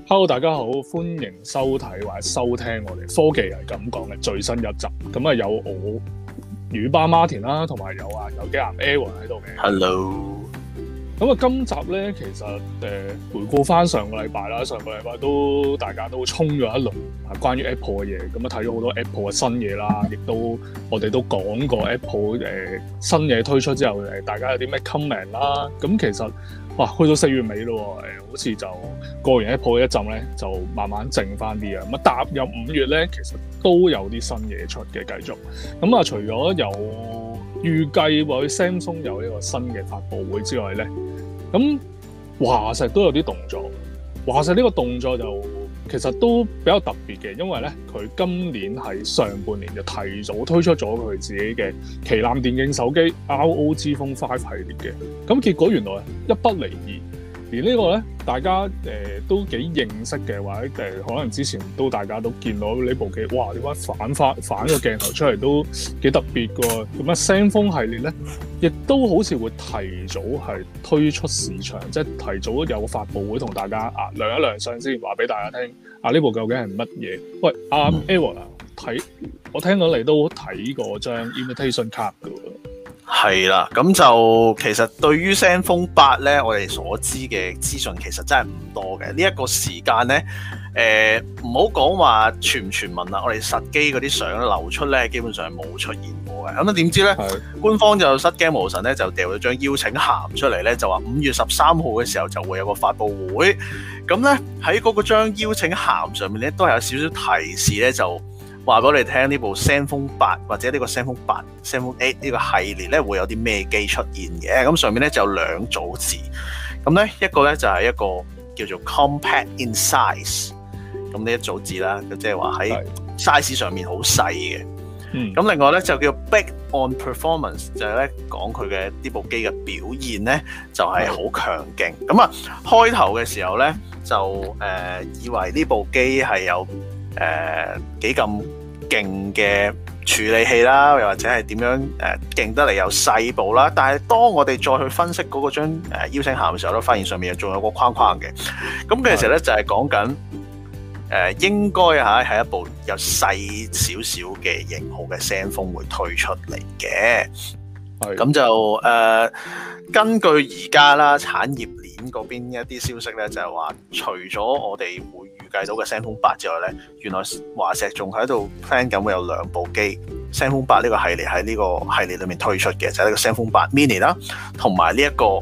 Hello， 大家好，歡迎收睇或者收聽我哋科技係咁講嘅最新一集。咁啊，有我雨巴 Martin 啦，同埋有機男 Aaron 喺度嘅。 Hello。 咁啊，今集咧其實回顧翻上個禮拜啦，上個禮拜大家都衝咗一輪關於 Apple 嘅嘢，咁啊睇咗好多 Apple 嘅新嘢啦，亦都我哋都講過 Apple 新嘢推出之後大家有啲咩 comment 啦。咁其實哇，去到4月尾咯，好似就過完 Apple 一陣咧，就慢慢靜翻啲啊。咁啊，踏入5月咧，其實都有啲新嘢出嘅，繼續。咁啊，除咗有預計或者 Samsung 有呢個新嘅發佈會之外咧，咁華碩都有啲動作。華碩呢個動作就其實都比較特別嘅，因為咧佢今年喺上半年就提早推出咗佢自己嘅旗艦電競手機 ROG Phone 5系列嘅。咁結果原來一不離二。而呢個咧，大家都幾認識嘅，或者可能之前大家都見到呢部機，哇！點解反個鏡頭出嚟都幾特別㗎？咁啊，Zenfone 系列咧，亦都好似會提早係推出市場，即係提早有個發佈會同大家亮一亮相先，話俾大家聽。呢部究竟係乜嘢？喂，Aaron 我聽到你都睇過張 invitation card 㗎喎。 係啦，咁就其實對於 Zenfone 8咧，我哋所知嘅資訊其實真係唔多嘅。呢一個時間咧，唔好講話傳唔傳聞啦，我哋實機嗰啲相流出咧，基本上係冇出現過嘅。咁啊點知咧，官方就失驚無神咧，就掉咗張邀請函出嚟咧，就話5月13號嘅時候就會有個發佈會。咁咧喺嗰個張邀請函上面咧，都係有少少提示咧，就話俾我哋聽呢部 Zenfone 8或者呢個 Zenfone 8、Zenfone 8呢個系列咧會有啲咩機出現嘅。咁上面咧就有2組字，咁咧一個咧就係一個叫做 compact in size， 咁呢一組字啦，即係話喺 size 上面好細嘅。咁另外咧就叫 big on performance， 就係咧講佢嘅呢部機嘅表現咧就係好強勁。咁啊開頭嘅時候咧就以為呢部機係有幾咁勁嘅處理器啦，又或者係點樣勁得嚟又細部啦。但係當我哋再去分析嗰個張邀請函嘅時候，都發現上面仲有個框框嘅。咁其實咧就係講緊應該係一部有細少少嘅型號嘅 Zenfone 會推出嚟嘅。咁就根據而家啦產業鏈嗰邊一啲消息咧，就係話除咗我哋會預計到嘅 Zenfone 8之外咧，原來華碩仲喺度 plan 緊會有2部機 Zenfone 8呢個系列喺呢個系列裏面推出嘅，就係呢個 Zenfone 8 Mini 啦，同埋呢一個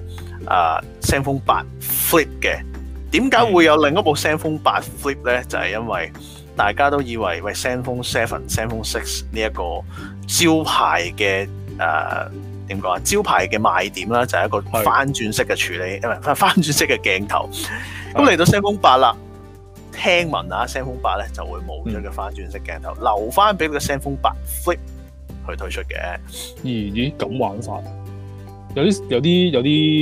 Zenfone 8 Flip 嘅。點解會有另一部 Zenfone 8 Flip 咧？就係因為大家都以為Zenfone 7、Zenfone 6呢一個招牌嘅點講啊？招牌嘅賣點啦，就係一個翻轉式嘅處理，翻轉式嘅鏡頭。咁嚟到 Zenfone 8啦，聽聞Zenfone 8咧就會冇咗個翻轉式鏡頭，留翻俾個 Zenfone 8 Flip 去推出嘅。咦，咁玩法有啲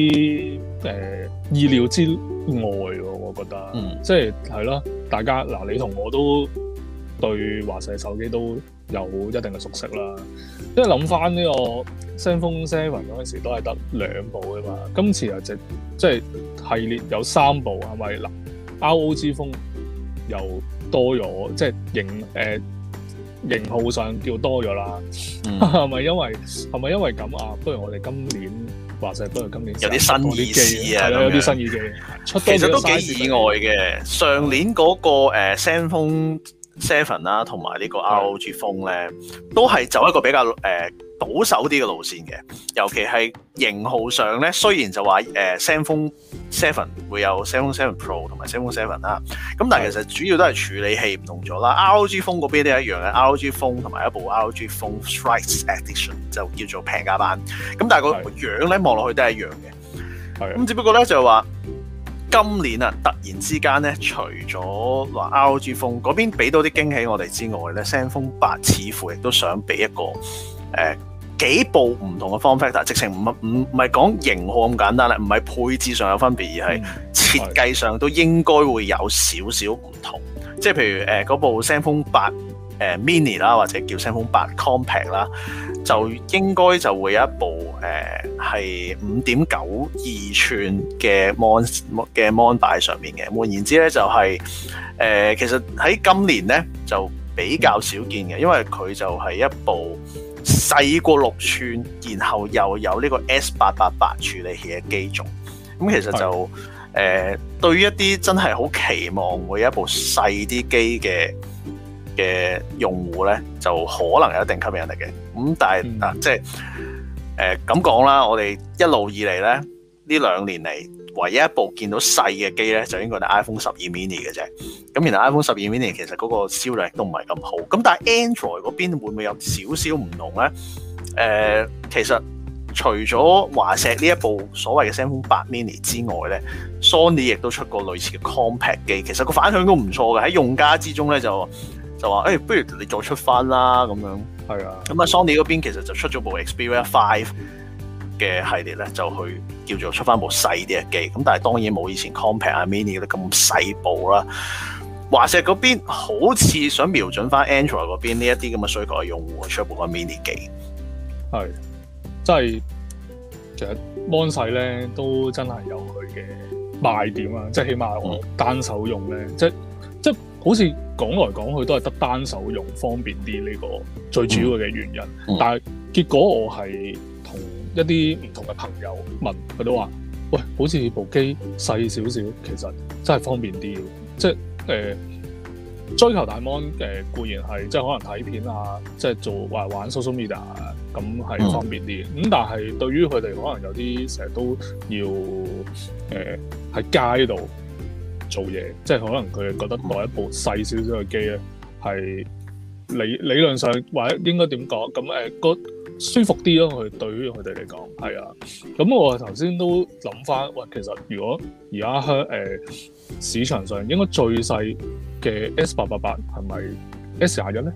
意料之外喎，我覺得。即係咯，大家你同我都對華碩手機都有一定嘅熟悉啦。因為諗翻呢個 Zenfone 7嗰陣時都係得2部㗎嘛，今次又即係系列有3部，係咪ROG Phone 又多咗，即係型號上叫多咗啦。係咪因為咁啊？不如我哋今年華碩不如今年有啲新意思啊， 有啲新意機出，其實都幾意外嘅。上年嗰個Zenfone 7啦，同埋呢個 ROG Phone 咧，都係走一個比較保守啲嘅路線嘅。尤其係型號上咧，雖然就話Zenfone 7會有 Zenfone 7 Pro 同埋 Zenfone 7啦，咁但係其實主要都係處理器唔同咗啦。ROG Phone 嗰邊都係一樣嘅，ROG Phone 同埋一部 ROG Phone Strike Edition 就叫做平價版。咁但係個樣咧望落去都係一樣嘅。咁只不過咧就係話今年突然之間咧，除咗話 ROG Phone 嗰邊俾到啲驚喜我哋之外咧，Zenfone 8似乎亦都想俾一個幾部唔同嘅 form factor，直情唔係講型號咁簡單啦，唔係配置上有分別，而係設計上都應該會有少少唔同。即係譬如嗰部 Zenfone 8 Mini 啦，或者叫 Zenfone 8 Compact 啦， 就應該就會有一部係5.92寸嘅 mon 擺上面嘅。換言之咧，就係其實喺今年咧就比較少見嘅，因為佢就係一部細過6寸，然後又有呢個 S888 處理器嘅機種。咁其實就對於一啲真係好期望會有一部細啲機嘅用戶咧，就可能有一定吸引力嘅。咁但係即係咁講啦，我哋一路以嚟咧呢2年嚟，唯一一部見到細嘅機咧，就應該係 iPhone 12 mini 嘅啫。咁然後 iPhone 12 mini 其實嗰個銷量都唔係咁好。咁但係 Android 嗰邊會唔會有少少唔同咧？其實除咗華碩呢一部所謂嘅 Zenfone 8 mini 之外咧，Sony 亦都出過類似嘅 compact 機，其實個反響都唔錯嘅。喺用家之中咧就話不如你再出翻啦咁樣。係啊。咁啊 Sony 嗰邊其實就出咗部 Xperia 5嘅系列咧，就去叫做出翻部細啲嘅機。咁但係當然冇以前 compact 啊 mini 嗰啲咁細部啦。華碩嗰邊好似想瞄準翻 Android 嗰邊呢一啲咁嘅需求嘅用戶，出一部個 mini 機。係。 即係其實 mon 細咧都真係有佢嘅賣點啊！即係起碼我單手用咧，即好似講來講去都係得單手用方便啲呢個最主要嘅原因。但係結果我係同一啲唔同嘅朋友問，佢都話：喂，好似部機細少少，其實真係方便啲。即係追求大 mon 固然係即係可能睇片啊，即係做玩 social media 啊，咁係方便啲。咁但係對於佢哋可能有啲成日都要喺街度做嘢，即係可能佢哋覺得攞一部細少少嘅機咧，係理論上或者應該點講咁個舒服啲咯。佢對於佢哋嚟講係啊。咁我頭先都諗翻，喂，其實如果而家市場上應該最細嘅 S888 係咪 S21咧？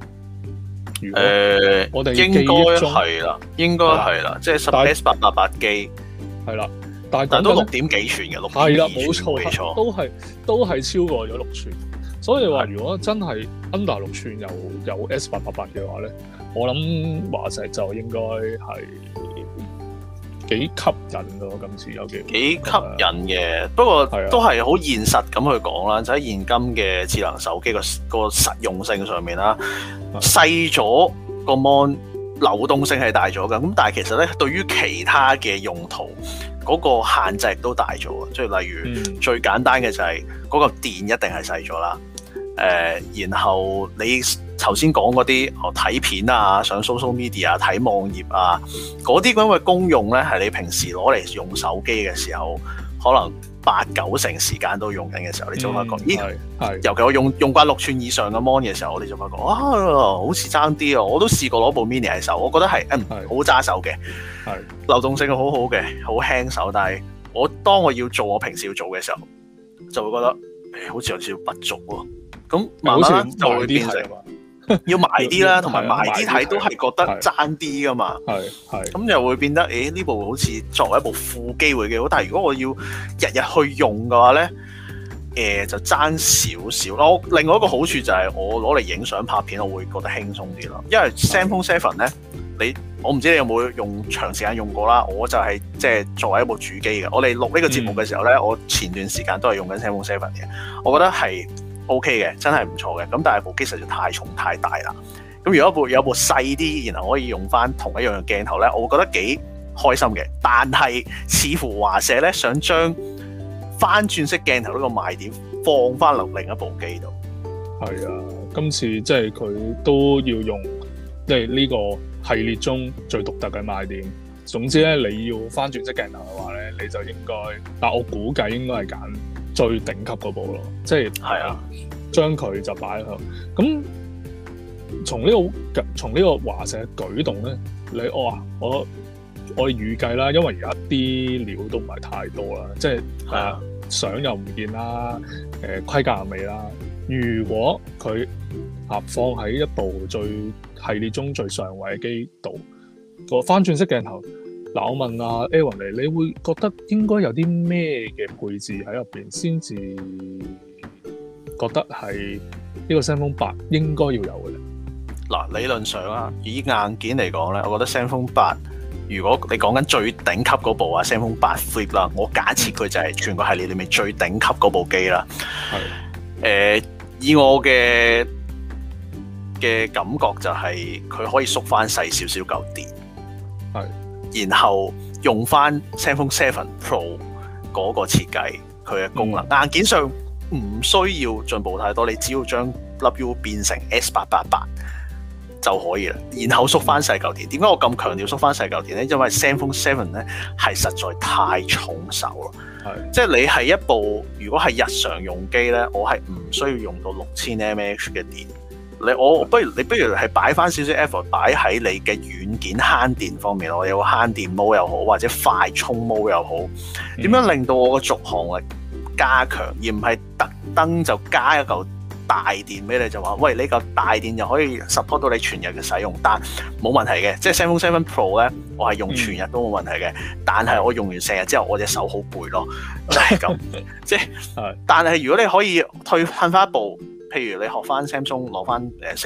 我哋應該係啦，應該係啦，即係S888機係啦，但都6點幾寸嘅，6 係啦，冇錯，都係超過咗6寸。所以話如果真係 under 6寸有 S888 嘅話咧，我諗華碩就應該係幾吸引咯。今次有幾吸引嘅，不過都係好現實咁去講啦，就喺現今嘅智能手機個實用性上面啦，細咗個 mon 流動性係大咗嘅，咁但係其實咧對於其他嘅用途嗰個限制亦都大咗，即係例如最簡單嘅就係嗰個電一定係細咗啦。然後你頭先講嗰啲睇片啊、上 social media 睇網頁啊，嗰啲咁嘅功用咧，係你平時攞嚟用手機嘅時候，可能8-9成時間都用緊嘅時候，你就發覺，尤其我用慣6寸以上嘅 mon 嘅時候，我哋就發覺好似爭啲啊！我都試過攞部 mini 喺手，我覺得係好揸手嘅，流動性好好嘅，好輕手。但係當我要做我平時要做嘅時候，就會覺得好似有少少不足喎。咁慢慢就會變成要埋啲啦，同埋埋啲睇都係覺得爭啲噶嘛。咁又會變得呢部好似作為一部副機會幾好，但係如果我要日日去用嘅話咧，就爭少少咯。另外一個好處就係我攞嚟影相拍片，我會覺得輕鬆啲咯。因為 Zenfone 7咧，我唔知你有冇用長時間用過啦。我就係即係作為一部主機嘅。我哋錄呢個節目嘅時候咧，我前段時間都係用緊 Zenfone 7嘅。我覺得係OK 嘅，真係唔錯嘅。咁但係部機實在太重太大啦。咁如果有部細啲，然後可以用翻同一樣嘅鏡頭咧，我會覺得幾開心嘅。但係似乎華碩咧想將翻轉式鏡頭呢個賣點放翻落另一部機度。係啊，今次即係佢都要用即係呢個系列中最獨特嘅賣點。總之咧，你要翻轉式鏡頭嘅話咧，你就應該，但我估計應該係揀最頂級嗰部咯，即係將佢就擺喺度。咁從呢個華碩嘅舉動咧，我預計啦，因為而家啲料都唔係太多啦，即係相又唔見啦，規格又未啦。如果佢放喺一部最系列中最上位嘅機度，個翻轉式鏡頭，嗱，我問阿 Aaron 你會覺得應該有啲咩嘅配置喺入邊先至覺得係呢個 Zenfone 8應該要有嘅咧？ 嗱，理論上啊，以硬件嚟講咧，我覺得 Zenfone 8，如果你講緊最頂級嗰部啊 Zenfone 8 Flip 啦，我假設佢就係全個系列裏面最頂級嗰部機啦。係。以我嘅感覺就係佢可以縮翻細少少嚿電。係。然後用翻 Zenfone 7 Pro 嗰個設計，佢嘅功能，硬件上唔需要進步太多，你只要將粒 U 變成 S888。就可以啦，然後縮翻細嚿電。點解我咁強調縮翻細嚿電咧？因為 Zenfone 7咧係實在太重手咯。係，即係你係一部如果係日常用機咧，我係唔需要用到6000 mAh 嘅電。不如係擺翻少少 effort 擺喺你嘅軟件慳電方面，我有個慳電模又好，或者快充模又好，點樣令到我個續航力加強，而唔係特登就加一嚿大電俾你，就話喂，你個大電就可以 support 到你全日嘅使用，但冇問題嘅。即係 Zenfone 7 Pro 咧，我係用全日都冇問題嘅。但係我用完成日之後，我隻手好攰咯，就係咁。即係，但係如果你可以退翻一步，譬如你學翻 Samsung 攞翻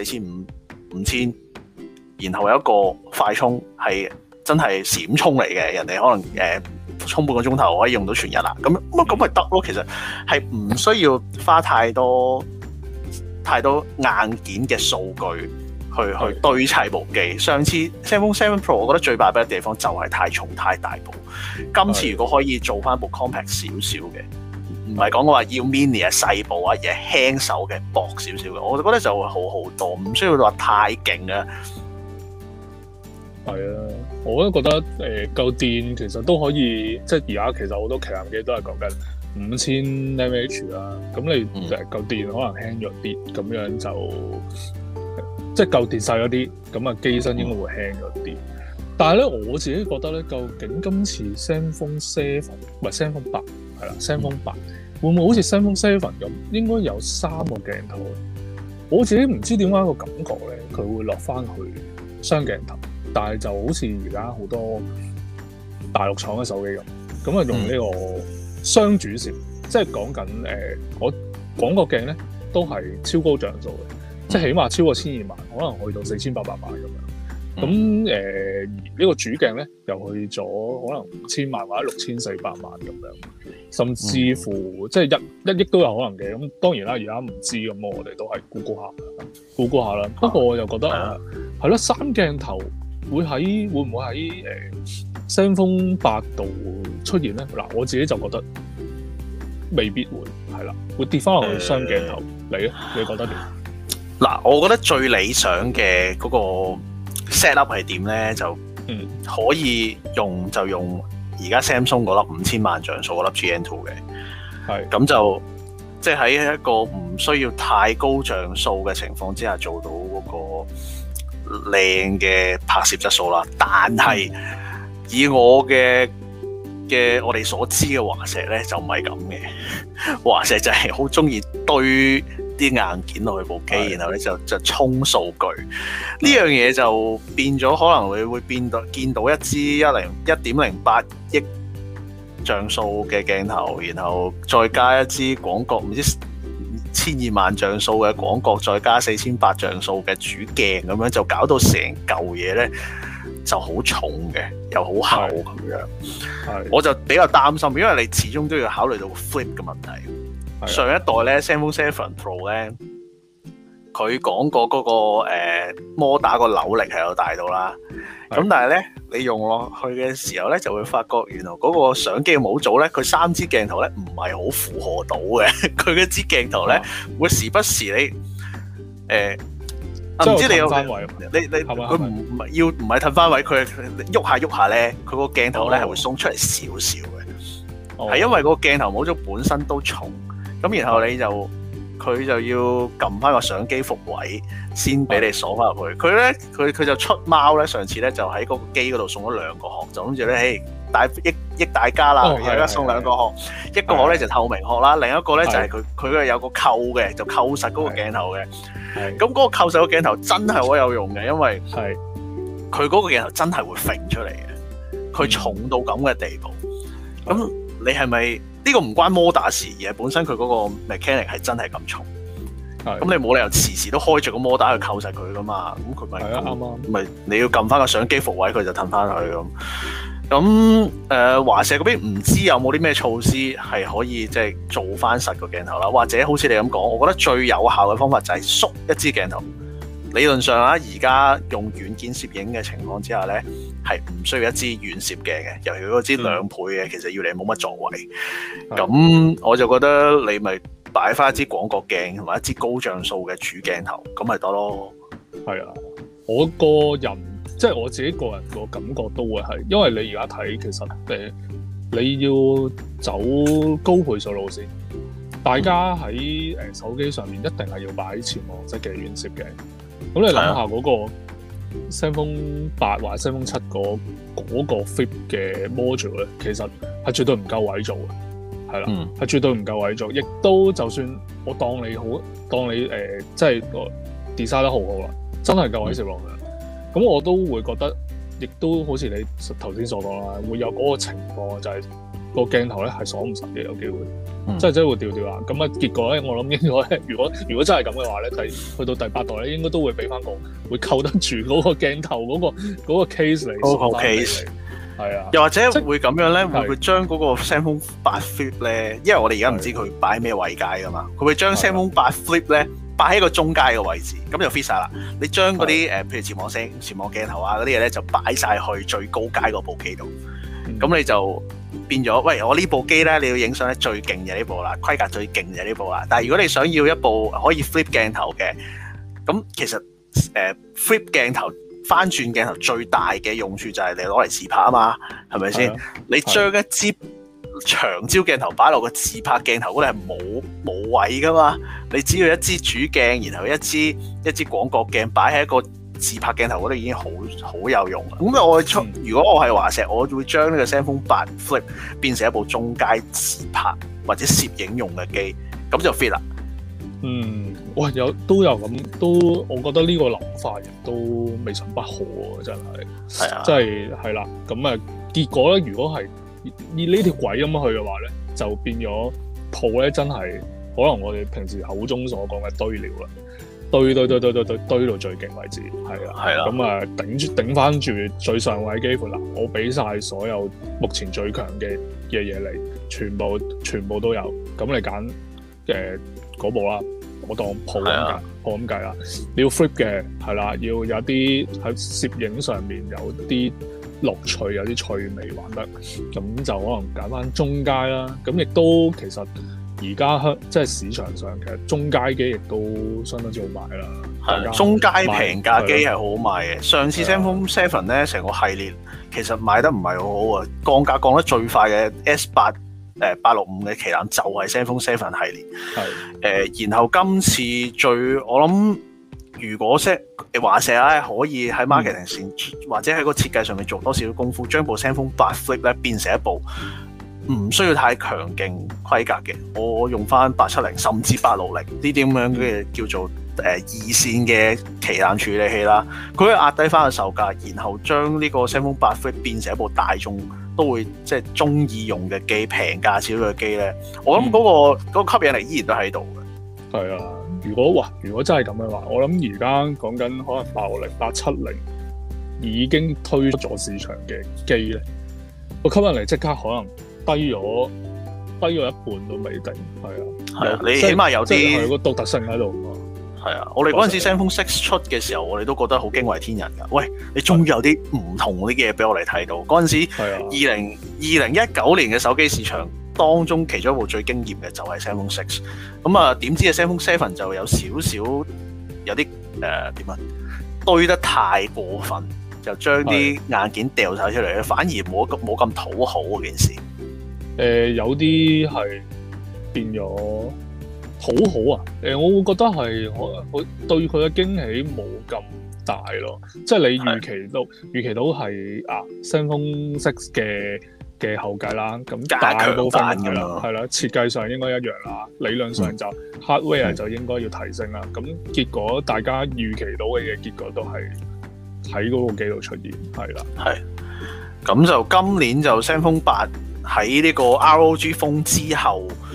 4500、5000，然後有一個快充係真係閃充嚟嘅，人哋可能充半個鐘頭可以用到全日啦。咁咪得咯。其實係唔需要花太多硬件嘅數據去堆砌部機。上次 Zenfone 7 Pro 我覺得最敗筆嘅地方就係太重太大部。今次如果可以做翻部 compact 少少嘅，唔係講話要 mini 啊細部啊，而係輕手嘅薄少少嘅，我就覺得就會好好多，唔需要話太勁啊。 係啊，我都覺得夠電其實都可以，即係而家其實好多旗艦機都係講緊5000 mAh 啦，咁你夠電可能輕咗啲，咁樣就即係夠電細咗啲，咁啊機身應該會輕咗啲。但係咧，我自己覺得咧，究竟今次 Zenfone 7唔係 Zenfone 8係啦 ，Zenfone 8會唔會好似 Zenfone 7咁，應該有3個鏡頭？我自己唔知點解個感覺咧，佢會落翻去雙鏡頭，但係就好似而家好多大陸廠嘅手機咁啊用呢個雙主攝，即係講緊我廣角鏡咧都係超高像素嘅，即係起碼超過1200，可能去到4800萬咁樣。咁呢個主鏡咧又去咗可能5000萬或者6400萬咁樣，甚至乎即係一億都有可能嘅。咁當然啦，而家唔知咁，我哋都係估估下啦。不過我又覺得係咯，3鏡頭會唔會喺Zenfone 8度出現咧？嗱，我自己就覺得未必會係啦，會跌翻落去雙鏡頭。你咧，你覺得點？ 嗱，我覺得最理想嘅嗰個 set up 係點咧？就可以用就用而家 Samsung 嗰粒5000萬像素嗰粒 GN2 嘅，係咁就即係喺一個唔需要太高像素嘅情況之下做到嗰個靚嘅拍攝質素啦。但係以我嘅我哋所知嘅華碩咧就唔係咁嘅，華碩就係好中意堆啲硬件落去部機，然後咧就衝數據。呢樣嘢就變咗，可能你會見到一支1.08億像素嘅鏡頭，然後再加一支廣角唔知1200萬像素嘅廣角，再加4800像素嘅主鏡，咁樣就搞到成嚿嘢咧就好重嘅，又好厚咁樣。我就比較擔心，因為你始終都要考慮到個 flip 嘅問題。上一代咧 Zenfone 7 Pro 咧，佢講過嗰個摩打個扭力係有大到啦。咁但係咧，你用落去嘅時候咧，就會發覺原來嗰個相機嘅模組咧，佢3支鏡頭咧唔係好負荷到嘅。佢嗰支鏡頭咧，會時不時你唔知你有你佢唔係褪翻位，佢喐下咧，佢個鏡頭咧係會鬆出嚟少少嘅。係因為個鏡頭模組本身都重。咁然後佢就要撳翻個相機伏位先俾你鎖翻入去。佢就出貓咧，上次咧就喺嗰個機嗰度送咗2個殼，就諗住咧，益大家啦，而家送2個殼，一個殼咧就透明殼啦，另一個咧就係佢有個扣嘅，就扣實嗰個鏡頭嘅。咁嗰個扣實個鏡頭真係好有用嘅，因為佢嗰個鏡頭真係會揈出嚟嘅，佢重到咁嘅地步。咁你係咪？呢個唔關摩打事，而係本身佢嗰個 mechanic 係真係咁重。 咁你冇理由時時都開着個摩打去扣實佢噶嘛，咁佢咪咪你要撳翻個相機復位，佢就褪翻去咁。咁華碩嗰邊唔知有冇啲咩措施係可以即係做翻實個鏡頭啦，或者好似你咁講，我覺得最有效嘅方法就係縮一支鏡頭。理論上啊，而家用軟件攝影嘅情況之下咧，係唔需要一支遠攝鏡嘅，尤其嗰支2倍嘅，其實要你冇乜作為。咁我就覺得你咪擺翻一支廣角鏡同埋一支高像素嘅主鏡頭，咁咪得咯。係啊， 我個人。即係我自己個人個感覺都會係，因為你而家睇其實你要走高倍數路線，大家喺手機上面一定係要擺潛望式嘅遠攝鏡。咁你諗下嗰個 Zenfone 8或者 Zenfone 7嗰個 Flip 嘅 module 咧，其實係絕對唔夠位做嘅，係啦，係絕對唔夠位做。亦都就算我當你即係個 design 得好好啦，真係夠位攝落去。咁我都會覺得，亦都好似你頭先所講啦，會有嗰個情況，就係個鏡頭咧係鎖唔實嘅，有機會，即係真係會掉掉啦。咁啊，結果咧，我諗應該如果真係咁嘅話咧，去到第8代咧，應該都會俾翻個會扣得住嗰個鏡頭嗰個 case 嚟。嗰個 case 係啊，又或者會咁樣咧，會唔會將嗰個 Zenfone 8 Flip 咧？因為我哋而家唔知佢擺咩位階噶嘛，佢會將 Zenfone 8 Flip 咧。擺喺個中階嘅位置，咁就 fit 晒啦。你將嗰啲譬如潛望鏡頭啊嗰啲嘢咧，就擺晒去最高階嗰部機度。咁你就變咗，喂，我呢部機咧，你要影相咧最勁嘅呢部啦，規格最勁嘅呢部啦。但係如果你想要一部可以 flip 鏡頭嘅，咁其實flip 鏡頭翻轉鏡頭最大嘅用處就係你攞嚟自拍啊嘛，係咪先？你將一支長焦鏡頭擺落個自拍鏡頭嗰度係冇位噶嘛，你只要一支主鏡，然後一支廣角鏡擺喺一個自拍鏡頭嗰度已經好有用啦。咁如果我係華碩，我會將呢個 Zenfone 8 Flip 變成一部中階自拍或者攝影用嘅機，咁就 fit 啦。哇，都有咁，我覺得呢個諗法亦都未嘗不可喎，真係。係啊，即係啦。咁啊，結果咧，如果係以呢條軌咁樣去嘅話咧，就變咗鋪咧，真係可能我哋平時口中所講嘅堆料啦，堆到最勁為止，係啦，咁啊頂翻住最上位機款啦，我俾晒所有目前最強嘅嘢嚟，全部都有，咁你揀嗰部啦，我當鋪咁計啦，你要 flip 嘅係啦，要有啲喺攝影上面有啲樂趣，有啲趣味玩得，咁就可能揀翻中階啦。咁亦都其實而家即係市場上其實中階機亦都相當之好賣啦。係中階平價機係好好賣嘅。上次 Zenfone 7咧成個系列其實賣得唔係好好啊，降價降得最快嘅 S8 865嘅旗艦就係 Zenfone 7系列。然後今次我諗。如果華碩咧可以喺 marketing 線或者喺個設計上面做多少功夫，將部 Zenfone 8 Flip 咧變成一部唔需要太強勁規格嘅，我用翻870甚至860呢啲咁樣嘅叫做二線嘅旗艦處理器啦，佢可以壓低翻個售價，然後將呢個 Zenfone 8 Flip 變成一部大眾都會即係中意用嘅機，平價少少嘅機咧，我諗嗰個吸引力依然都喺度嘅。係啊。如果真係咁嘅話，我諗而家講緊可能860、870已經推出咗市場嘅機咧，個吸引力即刻可能低咗一半都未定。係啊，你起碼有啲個獨特性喺度。係啊，我哋嗰陣時 Zenfone 6出嘅時候，我哋都覺得好驚為天人㗎。喂，你終於有啲唔同啲嘢俾我哋睇到。嗰陣時2019年嘅手機市場當中其中一部最驚豔嘅就係 Zenfone 6，咁啊點知啊 Zenfone 7就有少少有啲堆得太過分，就將啲硬件掉晒出嚟，反而冇咁討好嗰件事。有啲係變咗討好啊！我會覺得係我對佢嘅驚喜冇咁大咯，即係你預期到係Zenfone 6嘅後繼啦，咁大部分係啦，設計上應該一樣啦，理論上就 hardware 就應該要提升啦。咁結果大家預期到嘅嘢，結果都係喺嗰個機度出現，係啦。係。咁就今年就 Zenfone 8喺呢個 ROG Phone 之後，就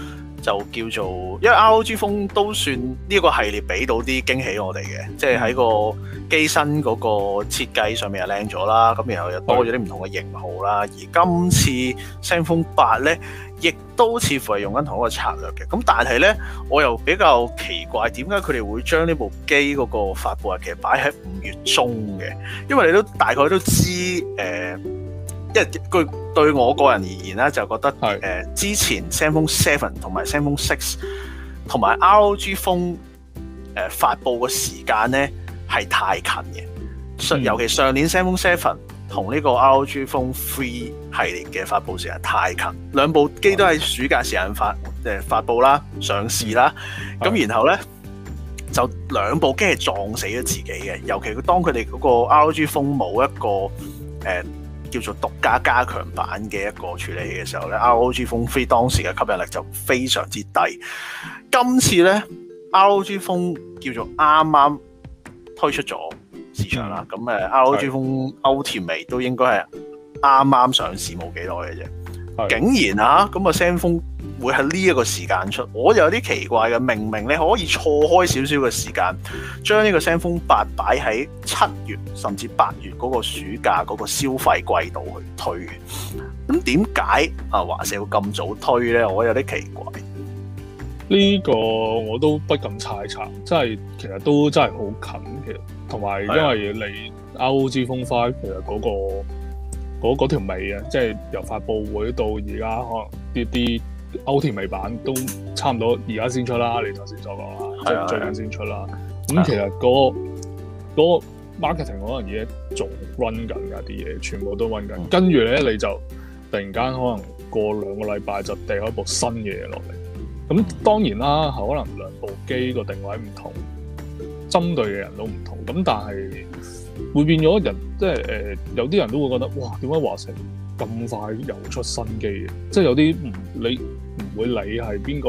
就叫做，因為 ROG Phone 都算呢個系列俾到啲驚喜我哋嘅，即係喺個機身嗰個設計上面又靚咗啦，咁然後又多咗啲唔同嘅型號啦。而今次 ZenFone 8咧，亦都似乎係用緊同一個策略嘅。咁但係咧，我又比較奇怪，點解佢哋會將呢部機嗰個發布日期擺喺5月中嘅？因為你都大概都知因為對我個人而言咧，就覺得之前 ZenFone 7同埋 ZenFone 6同埋 ROG Phone 發布嘅時間咧係太近嘅，尤其上年 ZenFone 7同呢個 ROG Phone 3系列嘅發布時間太近，兩部機都喺暑假時間發布啦、上市啦，咁然後咧就兩部機係撞死咗自己嘅，尤其當佢哋嗰個 ROG Phone 冇一個叫做獨家加強版嘅一個處理嘅時候咧 ，ROG Phone 3當時嘅吸引力就非常之低。今次咧 ，ROG Phone 叫做啱啱推出咗市場啦，咁ROG Phone Ultimate 都應該係啱啱上市冇幾耐嘅啫，竟然啊咁ZenFone會喺呢一個時間出，我就有啲奇怪嘅。明明你可以錯開少少嘅時間，將呢個 ZenFone 8擺喺7月甚至8月嗰個暑假嗰個消費季度去推嘅，咁點解華碩會咁早推咧？我有啲奇怪。 呢個我都不敢猜測，其實都真係好近嘅，同埋因為你 ROG Phone 5其實嗰條尾啊，即係由發布會到而家可能啲Ultimate版都差唔多而家先出啦，你頭先所講啦，即係最近先出啦。咁其實嗰個 marketing 可能而家仲 run 緊㗎，啲嘢全部都 run 緊。跟住咧你就突然間可能過2個禮拜就掟開部新嘅嘢落嚟。咁當然啦，可能兩部機個定位唔同，針對嘅人都唔同。咁但係會變咗人，即係有啲人都會覺得哇，點解華碩咁快又出新機嘅？即係有啲你唔會理係邊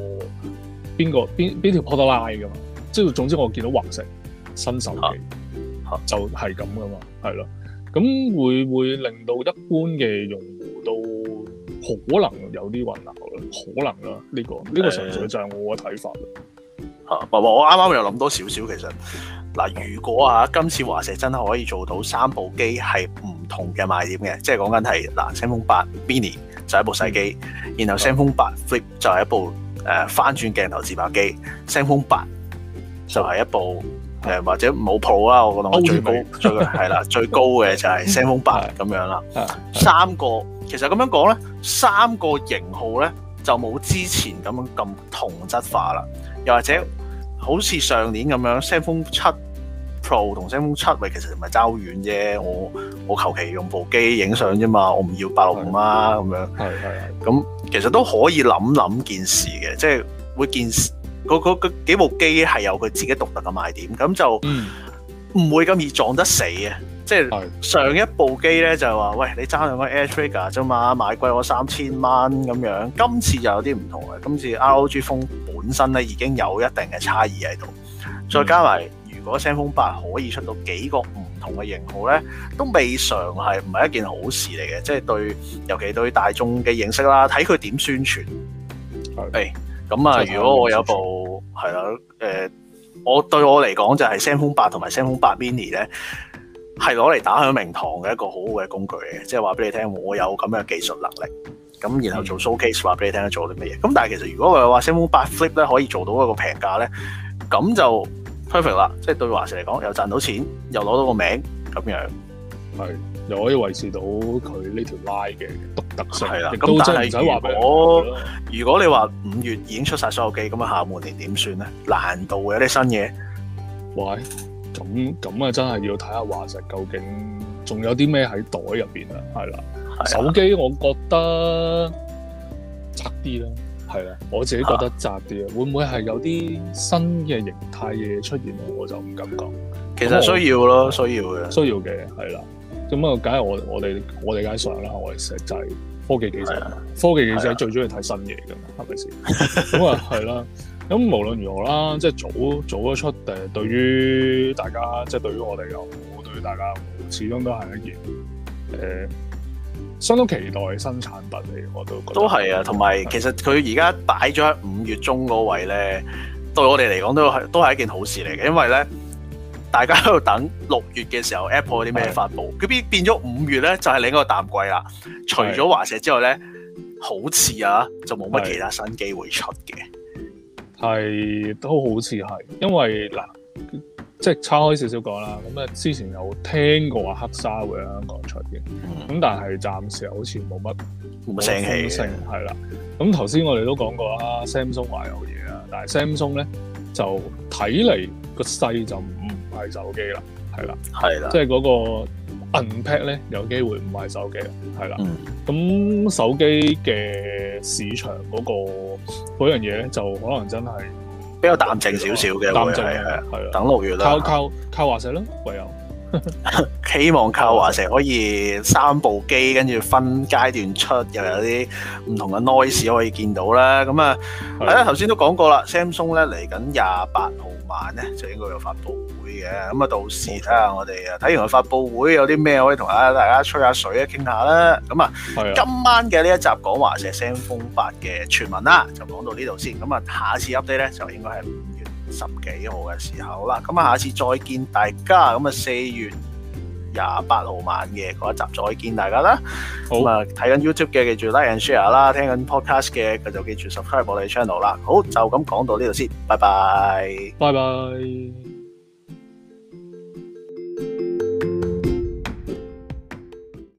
條 product line 噶嘛？即係總之我見到華碩新手機就係咁噶嘛，係咯。咁會令到一般嘅用戶都可能有啲混淆啦，可能啦。呢個純粹就係我嘅睇法啦。 我啱啱又諗多少少，其實嗱，如果今次華碩真係可以做到3部機係唔同嘅賣點嘅，即係講緊係嗱 ZenFone 8 Mini 就係一部細機，然後 ZenFone 8 Flip 就係一部翻轉鏡頭自拍機，ZenFone 8就係一部或者冇 Pro 啦，我覺得我最高係啦，最高嘅就係 ZenFone 8咁樣啦。3個其實咁樣講咧，3個型號咧就冇之前咁同質化啦，又或者好似上年咁樣 ZenFone 7 Pro 同 ZenFone 7其實唔係爭好遠啫，我求其用部機影相啫嘛，我唔要865啦咁樣。係。咁其實都可以諗件事嘅，即係會件事嗰幾部機係有佢自己獨特嘅賣點，咁就唔會咁易撞得死嘅。即係上一部機咧就係話，喂，你爭兩個 Air Trigger 啫嘛，買貴我3000蚊咁樣。今次就有啲唔同嘅，今次 ROG Phone 本身咧已經有一定嘅差異喺度，再加埋如果 ZenFone 8可以出到幾個唔同嘅型號咧，都未嘗係唔係一件好事嚟嘅。即係對，尤其對大眾嘅認識啦，睇佢點宣傳。咁如果我有部係啦，我對我嚟講就係 ZenFone 8同埋 ZenFone 8 Mini 咧，係攞嚟打響名堂嘅一個好好嘅工具嘅，即係話俾你聽，我有咁嘅技術能力，咁然後做 showcase 話俾你聽做啲乜嘢。咁但係其實如果我話 ZenFone 8 Flip 咧可以做到一個平價咧，咁就 perfect 啦，即係對華碩嚟講又賺到錢，又攞到個名咁樣，係又可以維持到佢呢條 line 嘅獨特性。係啦， 咁但係如果你話5月已經出晒所有機，咁下半年點算咧？難度有啲新嘢。 喂，咁啊，真係要睇下華碩究竟仲有啲咩喺袋入邊啊？係啦，手機我覺得窄啲啦，係啦，我自己覺得窄啲啊。會唔會係有啲新嘅形態嘢出現咧？我就唔敢講。 其實需要咯，需要嘅，係啦。咁啊，梗係我哋梗係想啦，我哋實際科技記者，科技記者最中意睇新嘢㗎嘛，係咪先？咁啊，係啦。咁無論如何啦，即係早咗出對於大家，即係對於我哋又好，對於大家又好，始終都係一件相當期待嘅新產品嚟，我都覺得都係啊。同埋其實佢而家擺咗喺5月中嗰位咧，對我哋嚟講都係一件好事嚟嘅，因為咧大家喺度等6月嘅時候 Apple 有啲咩發布，佢變咗5月咧就係另一個淡季啦。除咗華碩之外咧，好似就冇乜其他新機會出嘅。 係都好似係，因為嗱，即係岔開少少講啦。咁之前有聽過話黑沙會喺香港出嘅，咁但係暫時好似冇乜聲氣係啦。咁頭先我哋都講過啦，Samsung 話有嘢啊，但係 Samsung 咧就睇嚟個勢就唔係手機啦，係啦，即係嗰個 Unpacked 咧有機會唔係手機啦，係啦。咁手機嘅市場嗰樣嘢咧，就可能真係比較淡靜少少嘅， 淡靜係啦。 等6月啦， 靠華碩咯，唯有希望靠華碩可以3部機，跟住分階段出，又有啲唔同嘅 noise 可以見到啦。咁啊，係啦，頭先都講過啦 ，Samsung 咧嚟緊28號晚咧就應該有發布會嘅。咁啊，到時睇下我哋睇完個發布會有啲咩可以同大家吹下水傾下啦。咁啊，今晚嘅呢一集講華碩 Zenfone 8嘅傳聞啦，就講到呢度先。咁啊，下次 update 咧就應該係5月10幾號嘅時候啦。咁啊，下次再見大家。咁啊，4月28號晚嘅嗰一集再見大家啦。咁啊，睇緊 YouTube 嘅記住 like and share 啦，聽緊 podcast 嘅就記住 subscribe 我哋 channel 啦。好，就咁講到呢度先，拜拜。 拜拜。